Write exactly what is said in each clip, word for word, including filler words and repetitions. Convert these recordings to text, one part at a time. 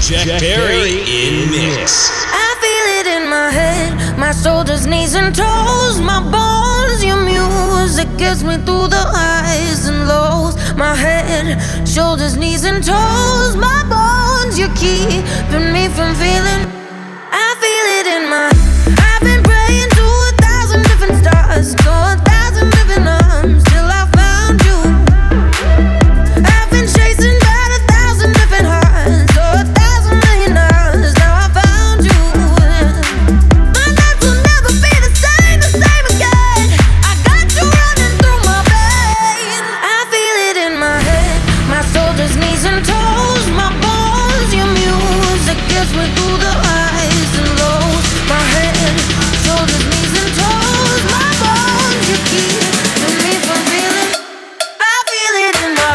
Jack Berry in mix. I feel it in my head, my shoulders, knees and toes, my bones. Your music gets me through the highs and lows. My head, shoulders, knees and toes, my bones. You're keeping me from feeling. I feel it in my. I've been praying to a thousand different stars, to a thousand different arms, till I found you. I've been chasing down a thousand different hearts, so a thousand million hours. Now I found you. My life will never be the same, the same again. I got you running through my veins. I feel it in my head, my shoulders, knees and toes, my bones. Your music gets me through the highs and lows. My head, shoulders, knees and toes, my bones. You keep me from feeling. I feel it in my.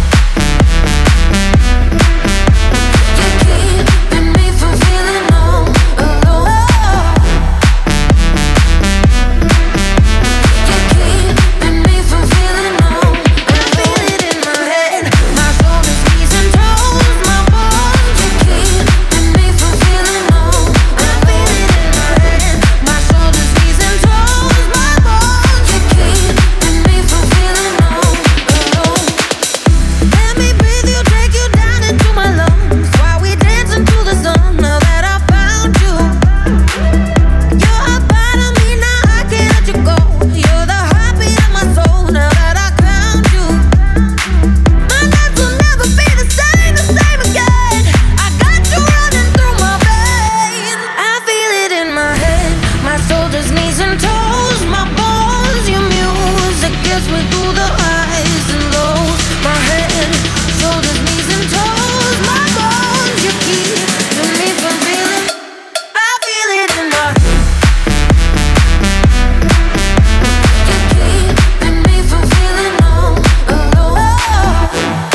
You keep me from feeling all alone. You keep me from feeling all. I feel it in my head, my shoulders, knees and toes, my bones. You keep me from feeling all. I feel it in my head, my shoulders, knees and toes, my bones. You keep me from feeling all alone. Let me breathe you, take you down into my lungs, while we dance into the sun. Now that I found you, you're a part of me. Now I can't let you go. You're the heartbeat of my soul. Now that I found you, my life will never be the same, the same again. I got you running through my veins. I feel it in my head, my shoulders, knees and toes, my bones. Your music gets me through the highs and lows. My head, shoulders, knees and toes, my bones. You keep me from feeling. I feel it in my. You keep me from feeling all alone.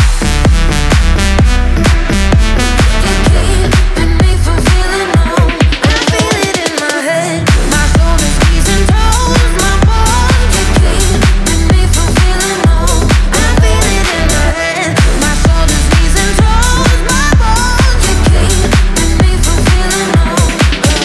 You keep me from feeling all. I feel it in my head, my shoulders, knees and toes, my bones. You keep me from feeling all. I feel it in my head, my shoulders, knees and toes, my bones. You keep me from feeling all alone.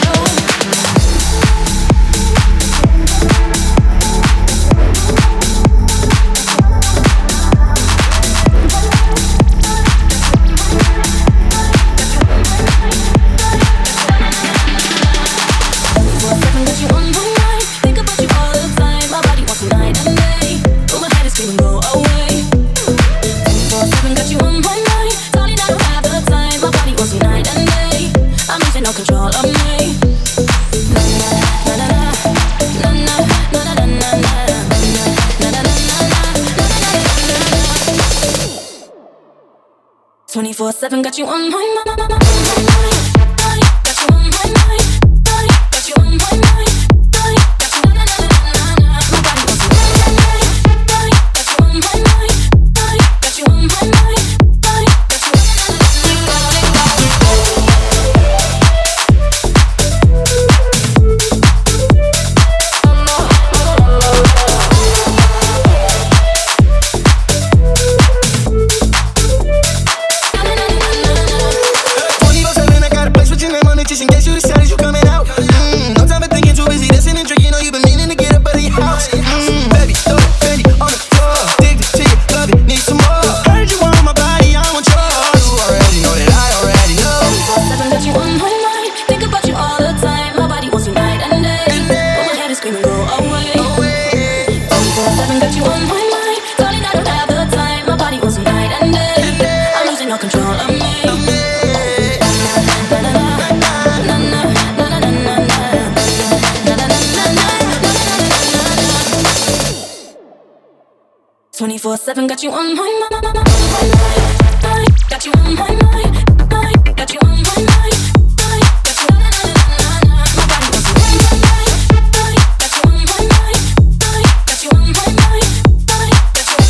Got you on my mind, think about you all the time. My body wants you night and day, but my head is screaming go away. twenty-four seven got you on my mind, darling, I don't have the time. My body wants you night and day, I'm losing all control of me. Na na na na na na na na na na na na na na. twenty-four seven got you on my mind, got you on my mind, got you on my mind. twenty-four seven, I got a place with your name on it just in case you decided you coming out. Mm, no time for thinking, too busy listening, drinking. Know you been meaning to get up out of your house. Mm, baby, throw it, Fendi on the floor. Addicted to you, love it, need some more. Heard you want my body, I want yours. You already know that I already know. twenty-four seven got you on my mind, think about you all the time. My body wants you night and day, but my head is screaming go away. twenty-four seven got you on my mind, darling, I don't have the time. My body wants you night and day, I'm losing all control of me. twenty-four seven got you on my mind, got you on my mind, got you on my mind, got you on my mind. My body wants you on my mind, got you on my mind, got you on my mind, got you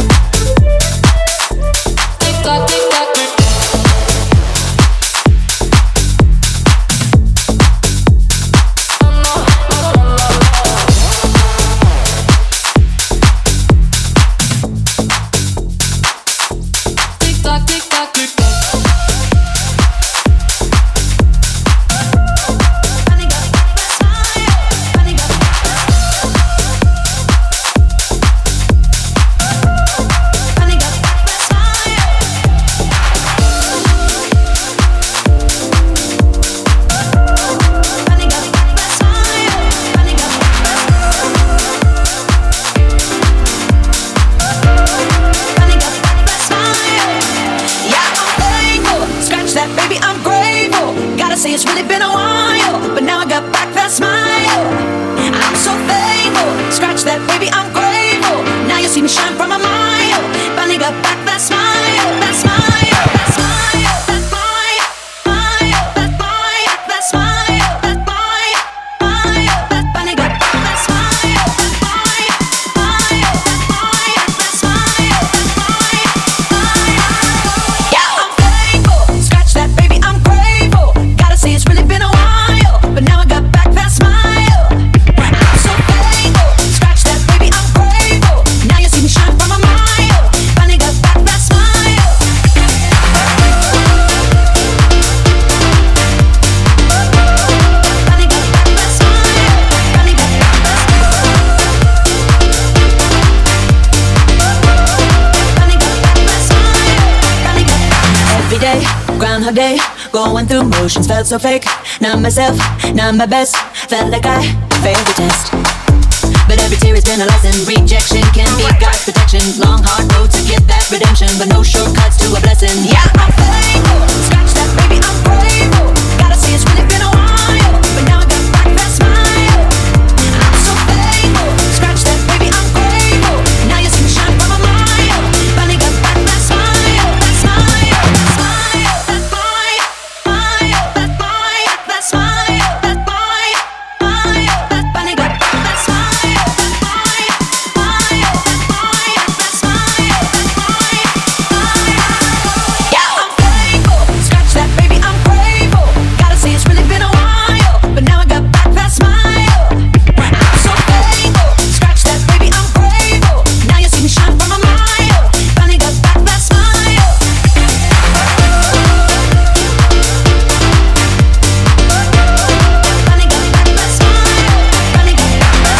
tick tock, tick tock. say it's really been a while, but now I got back that smile. I'm so thankful. Scratch that, baby, I'm grateful. Now you see me shine from a mile. Finally got back that smile, that smile, that smile, that smile, smile, that smile, that smile, that smile, smile, that finally got back that smile, that smile, smile, that smile, that smile, that smile, smile. Yeah, I'm thankful. Scratch that, baby, I'm grateful. Gotta say it's really been a while, but now I got back that smile. I'm so thankful. Scratch that, baby, I'm grateful. Now you see me shine from a mile. Finally got back that smile. Finally got back that smile. Finally got back that smile. Finally got back that smile. Finally got back. Every day, Groundhog Day, going through motions felt so fake. Not myself, not my best. Felt like I failed the test. But every tear has been a lesson. Rejection can be God's protection. Long hard road to get that redemption, but no shortcuts to a blessing. Yeah, I'm thankful. Scratch that, baby, I'm grateful. Gotta say it's really been a while, but now I got back that smile. I'm so thankful. Scratch that, baby, I'm grateful. Now you see me shine from a mile. Finally got back that smile, that smile, that smile, that smile, smile, that smile, that smile, that smile, smile, that finally got back that smile, that smile, smile, that smile, that smile, that smile, smile. Yeah, I'm thankful. Scratch that, baby, I'm grateful. Gotta say it's really been a while, but now I got back that smile. I'm so thankful. Scratch that, baby, I'm grateful. Now you see me shine from a mile. Finally got back that smile. Finally got back that smile. Finally got back that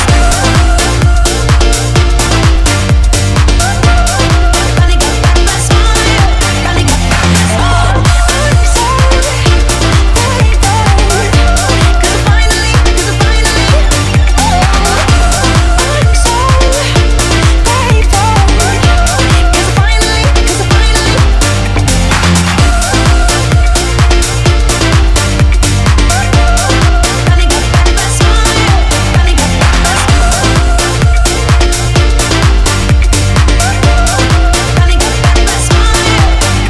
smile. Finally got back that smile. Finally got back that smile. I'm so grateful. 'Cause I finally, 'cause I finally, oh, I'm so grateful. 'Cause I finally, 'cause I finally. Finally got back that smile. Finally got back that smile. Finally got back that smile.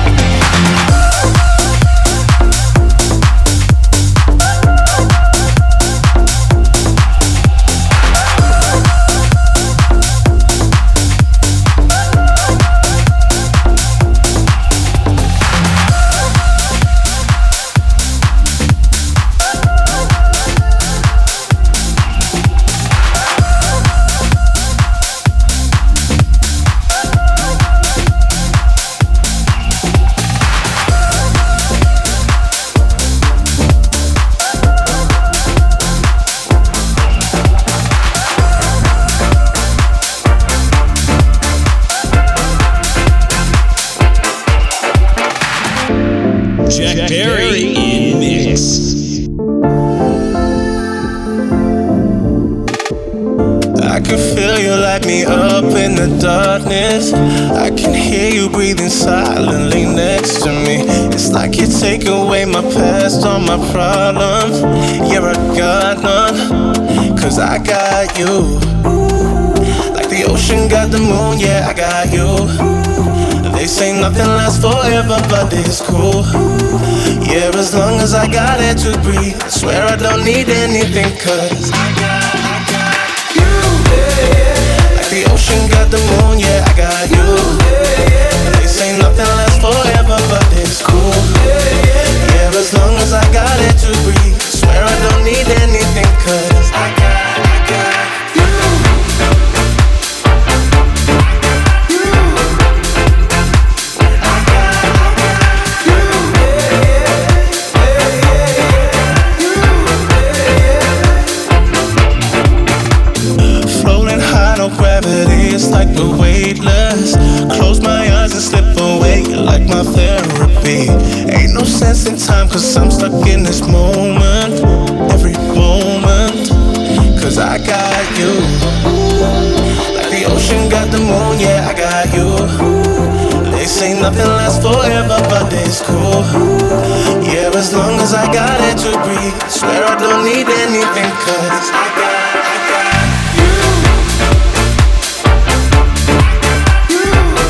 Jack Berry in mix. I can feel you light me up in the darkness. I can hear you breathing silently next to me. It's like you take away my past, all my problems. Yeah, I got none, 'cause I got you. Like the ocean got the moon, yeah, I got you. They say nothing lasts forever, but it's cool. Yeah, as long as I got it to breathe, I swear I don't need anything, 'cause I got, I got you. Like the ocean got the moon, yeah, I got you. They say nothing lasts forever, but it's cool. Yeah, as long as I got it to breathe, I swear I don't need anything, 'cause I got, I got you. Floating high, no gravity, it's like we're weightless. Close my eyes and slip away, you're like my therapy. Ain't no sense in time, 'cause I'm stuck in this moment. Every moment, 'cause I got you. Like the ocean got the moon, yeah, I got you. They say nothing lasts forever, but it's cool. Yeah, Yeah, as long as I got it to breathe, I swear I don't need anything, cause I got, I got you. You.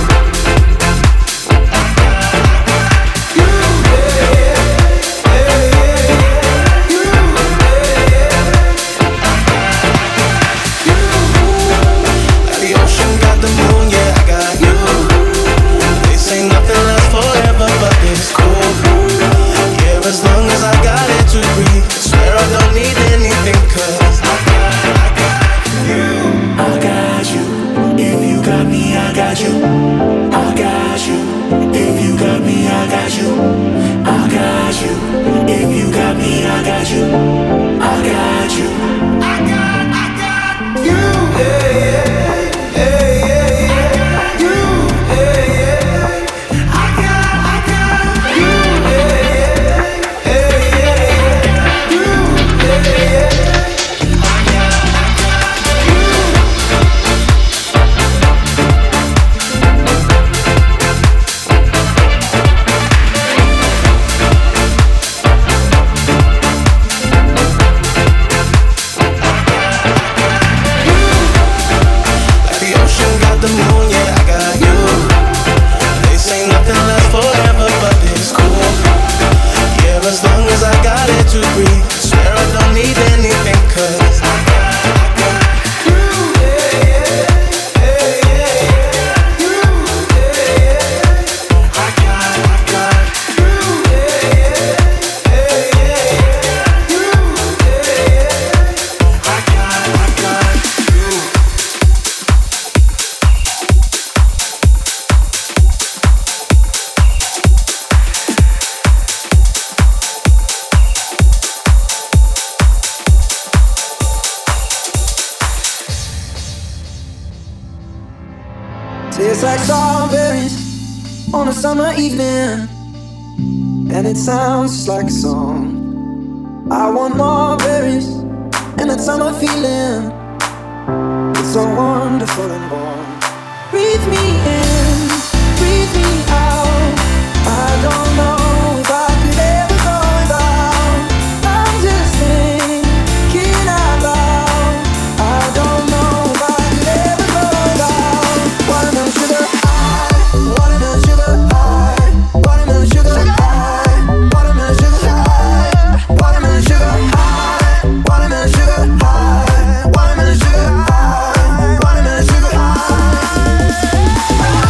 I got you. Yeah, yeah, yeah, yeah. You. Yeah, yeah. I got you. Like the ocean got the moon, yeah, I got you. They say nothing lasts forever, but it's cool. Yeah, as long as I got it to breathe, I swear I don't need anything, cause I got, I got you. I got you. If you got me, I got you. I got you. If you got me, I got you. I got you. If you got me, I got you. I got you. I got, I got you. Yeah, yeah, yeah, yeah, yeah. You, yeah, yeah. I got, I got you. Yeah, yeah, yeah, yeah, yeah. You, yeah, yeah. I got, I got you. Like the ocean got the moon, yeah, I got you. They say nothing lasts forever, but it's cool. Yeah, as long as I got it to breathe, I swear I don't need anything, cause I got, I got you. Yeah, yeah, yeah, yeah, yeah. You, yeah, yeah. I got, I got you. Yeah, yeah, yeah, yeah, yeah. You, yeah, yeah. I got, I got you. Tastes like strawberries on a summer evening, and it sounds just like a song. I want more berries and that summer feeling. It's so wonderful and warm. Breathe me in, breathe me out. I don't know if I could ever go without. I'm just thinking out loud. I don't know if I could ever go without. Watermelon sugar high, watermelon sugar high, watermelon sugar high, watermelon sugar high, watermelon sugar high, watermelon sugar high, watermelon sugar high, watermelon sugar high.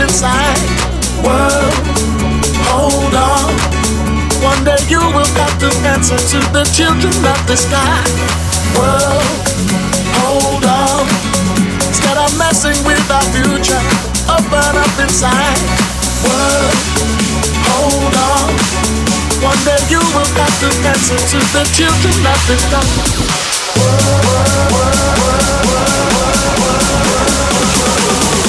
inside. World, hold on. One day you will have to answer to the children of the sky. World, hold on. Instead of messing with our future, open up inside. World, hold on. One day you will have to answer to the children of the sky. World, world, world, world, world, world, world.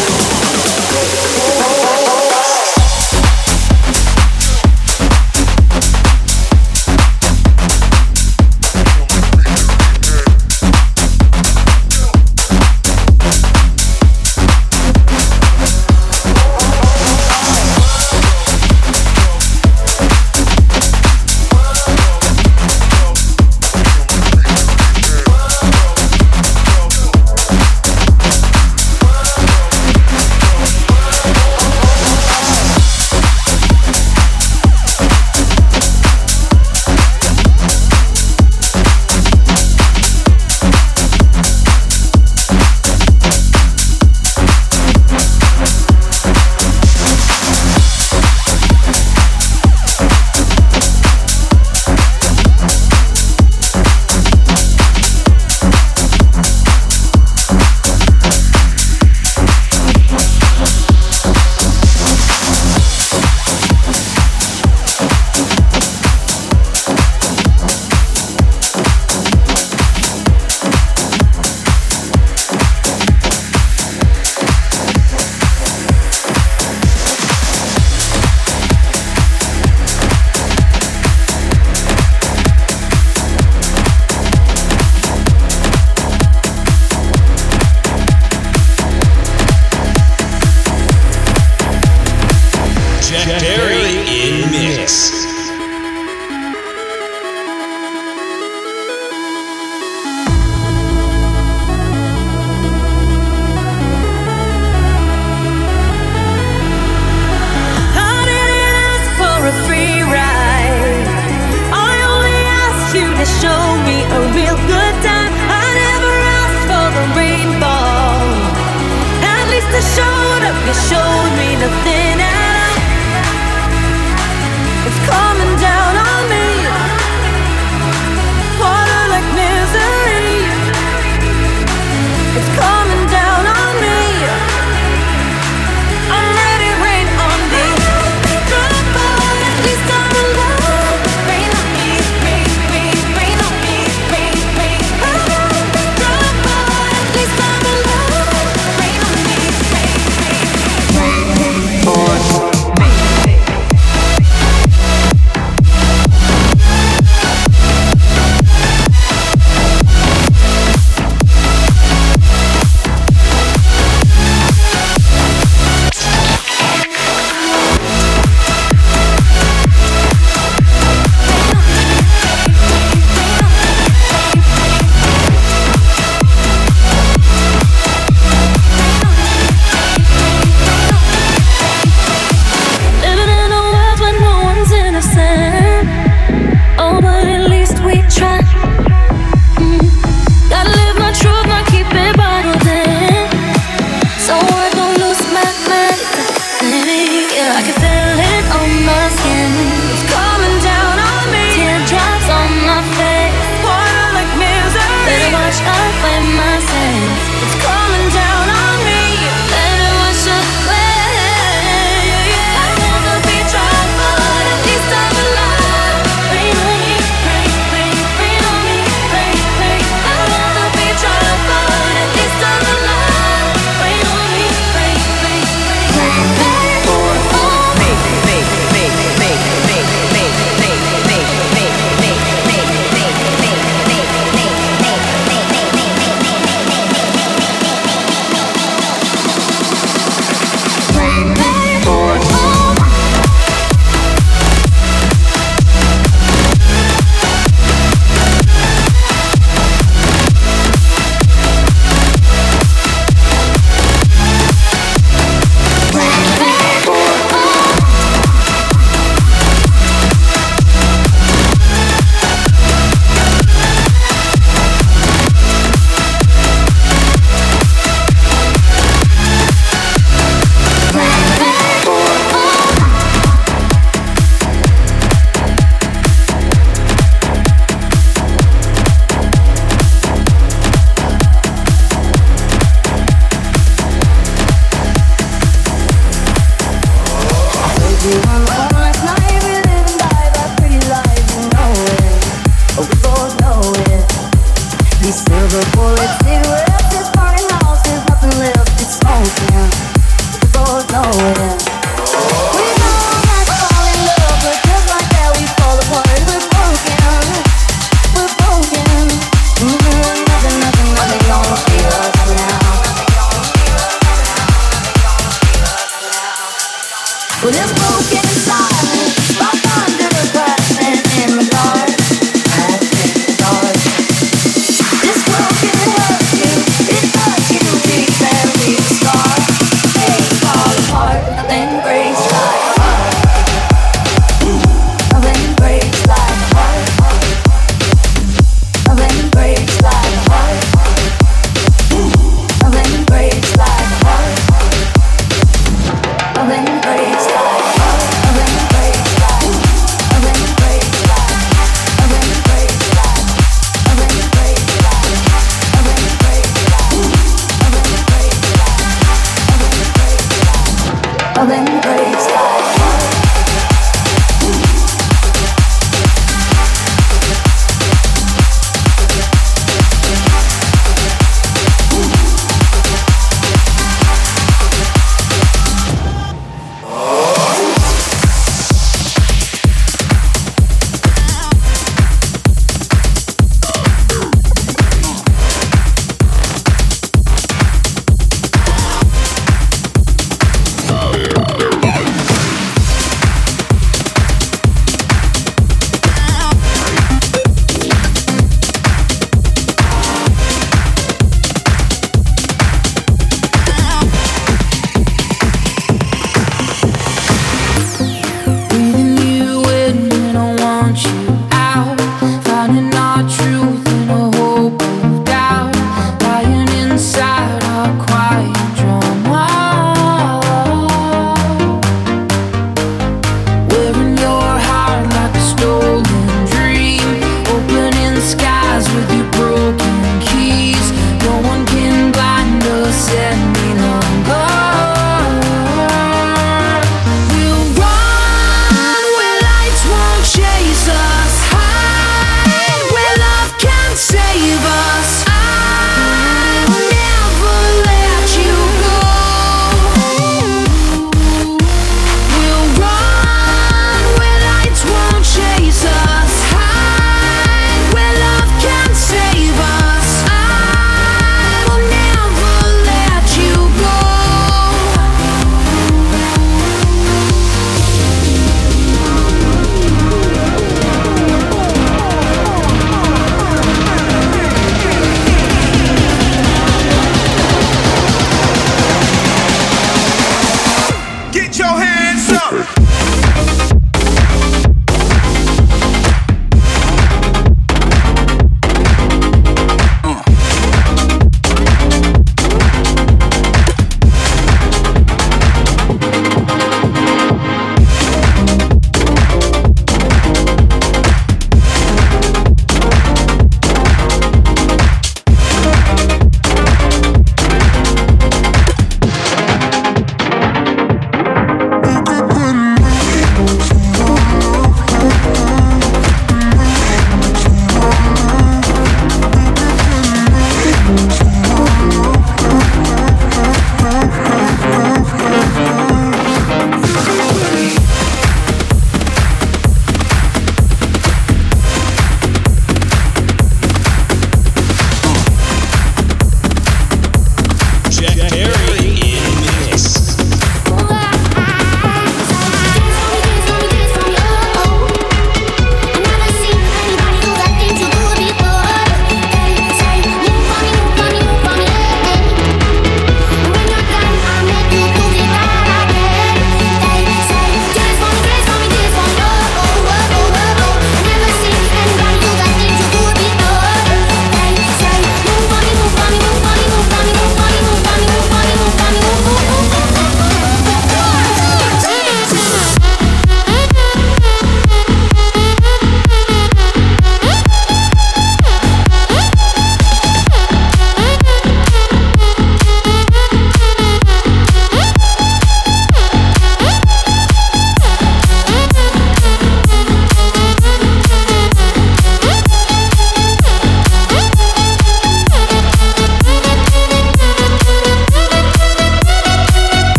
There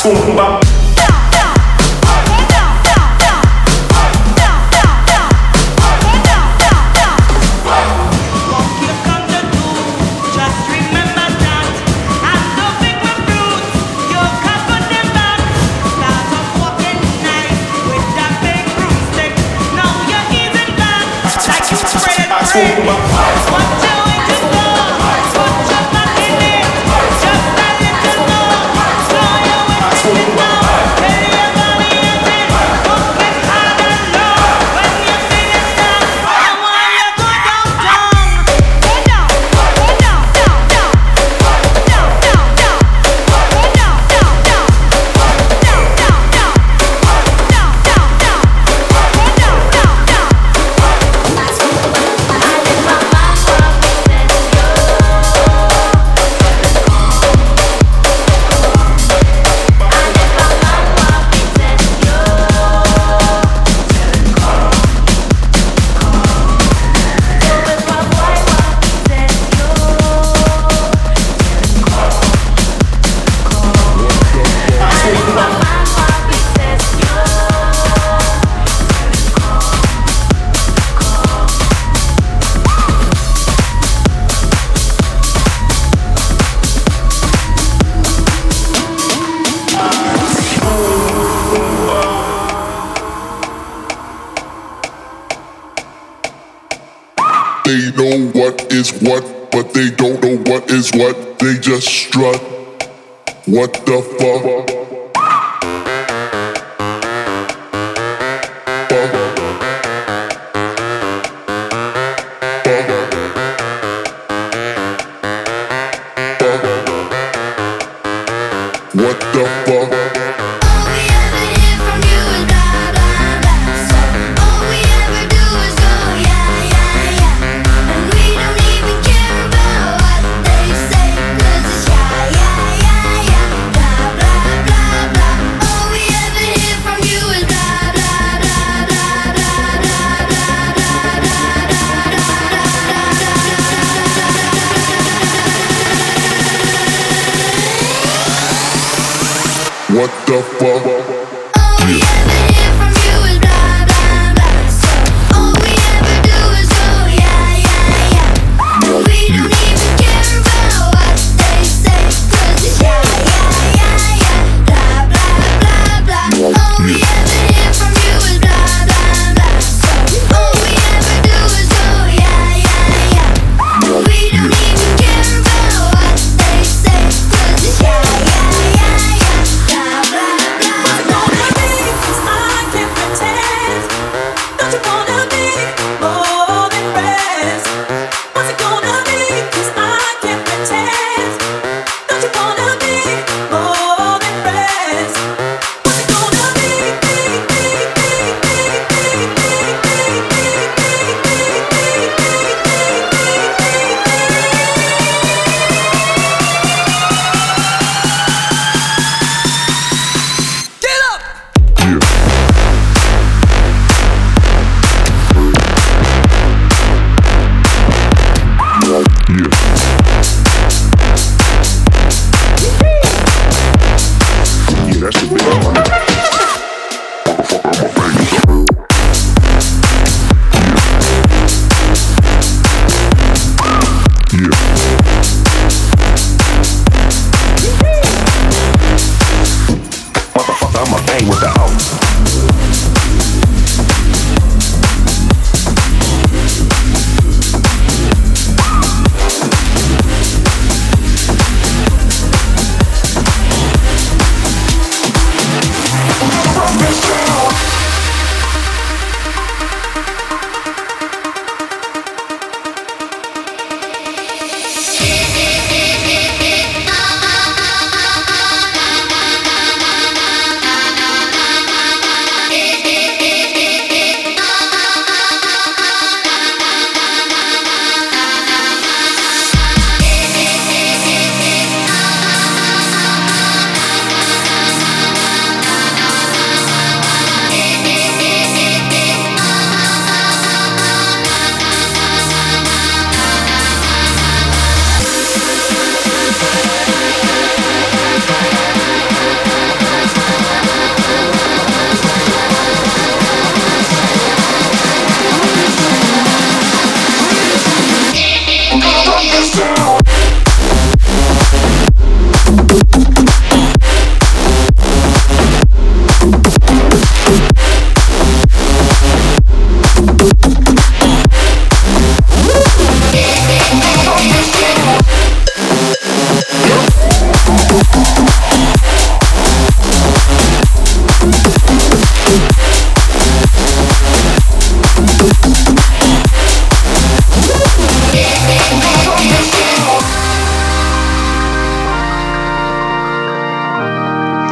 Zumba. They know what is what, but they don't know what is what. They just strut. What the fuck? What the fuck? What the fuck? Blah, blah, blah.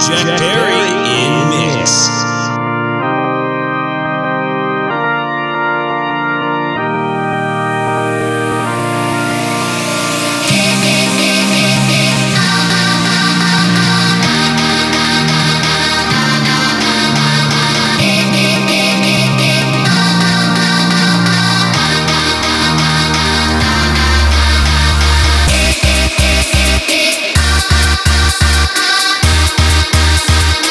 Jack Perry in mix. Thank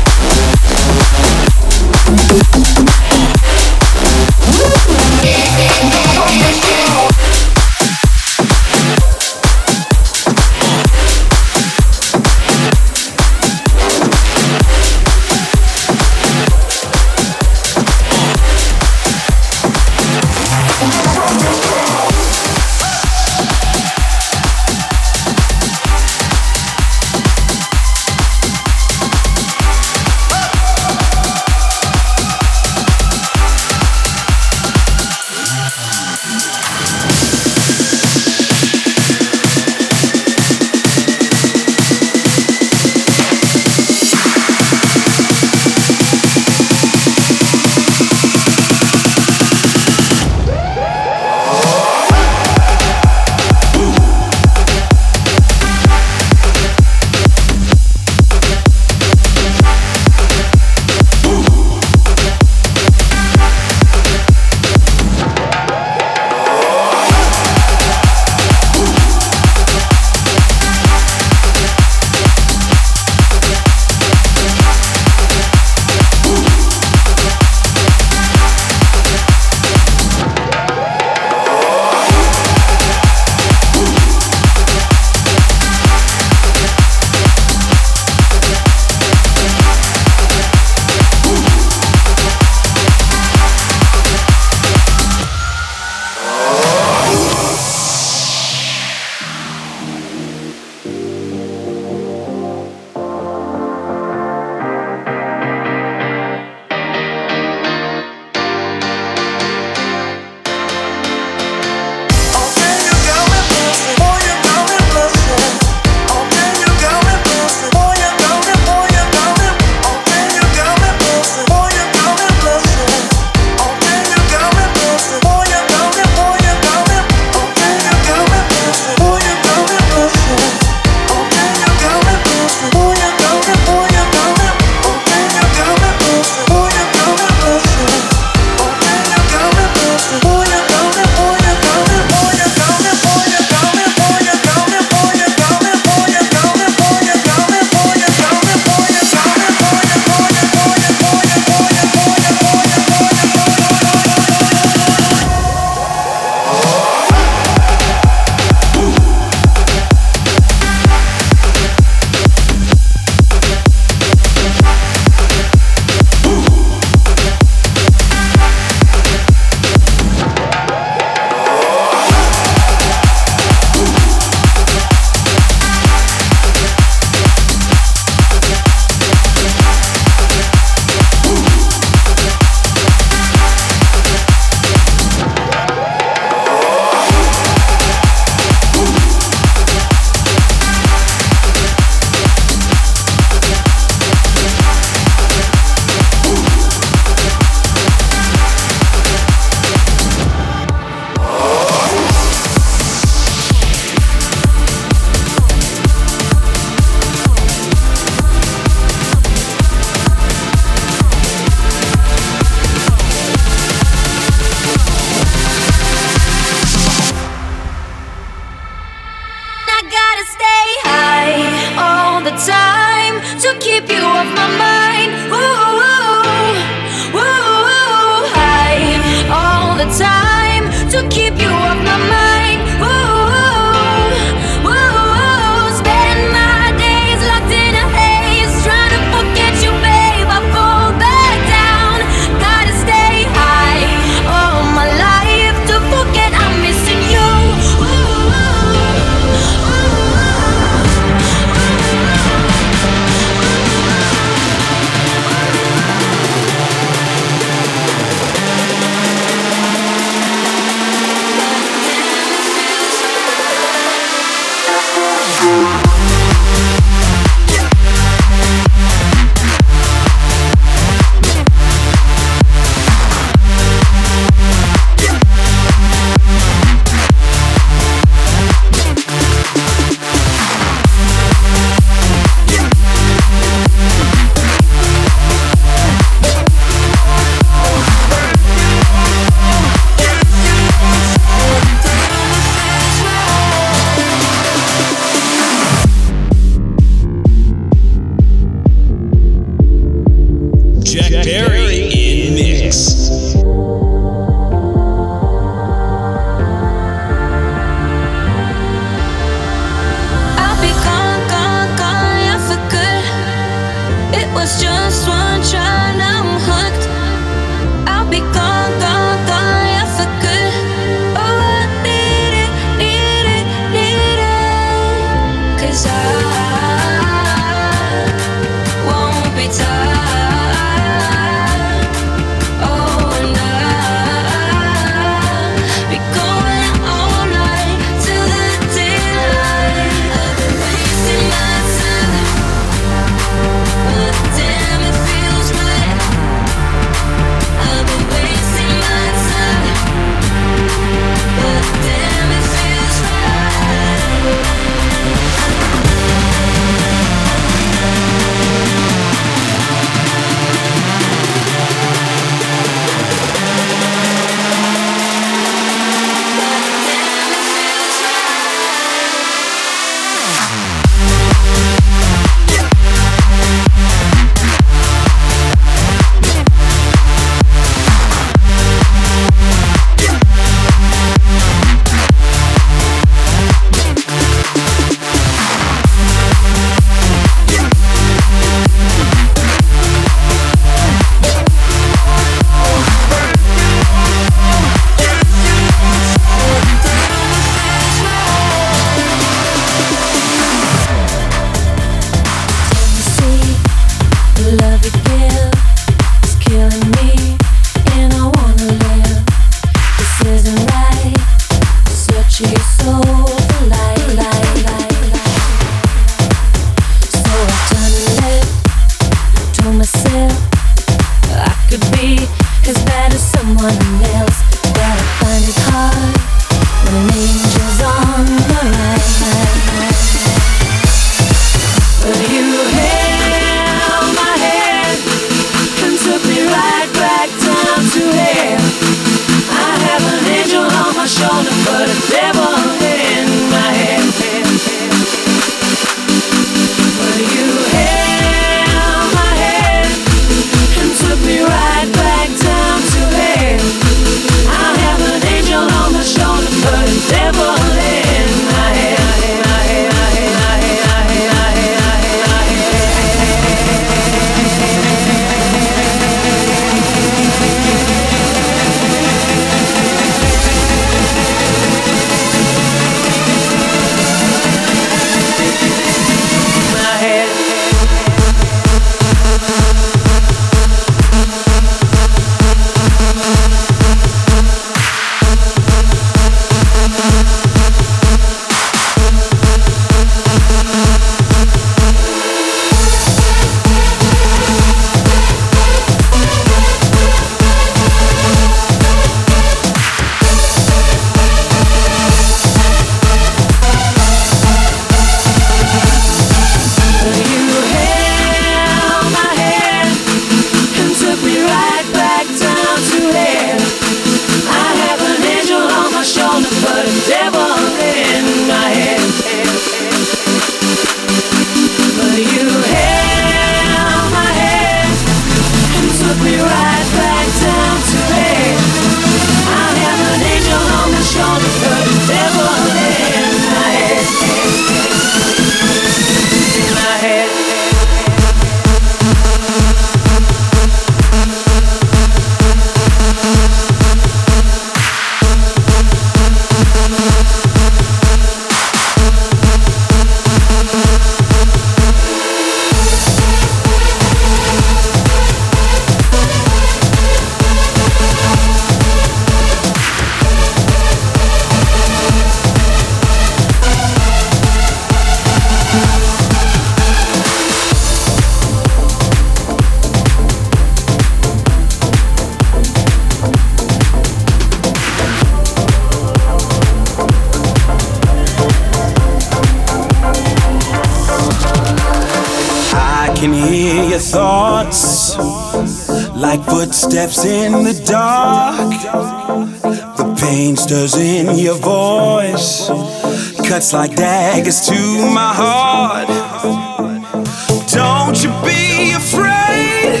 thoughts like footsteps in the dark. The pain stirs in your voice, cuts like daggers to my heart. Don't you be afraid,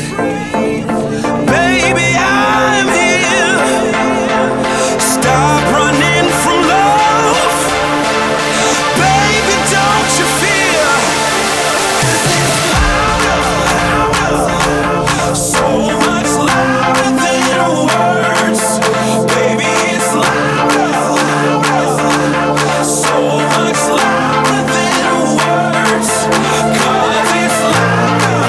baby, I'm here. Stop running from love, baby, don't you fear. So much louder than words, baby, it's louder. So much louder than words, 'cause it's louder.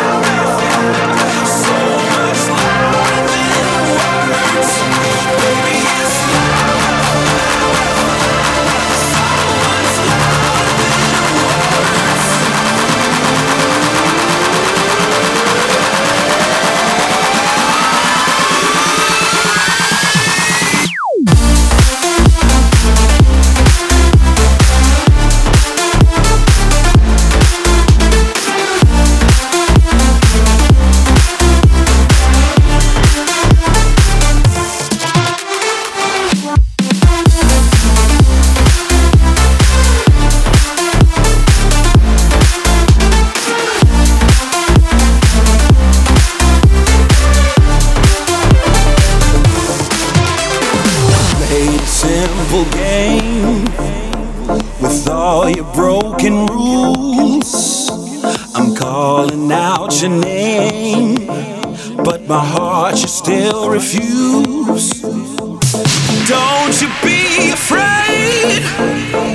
So much louder than words, baby, it's louder. So much louder than words. Played a simple game with all your broken rules. I'm calling out your name, but my heart you still refuse. Don't you be afraid,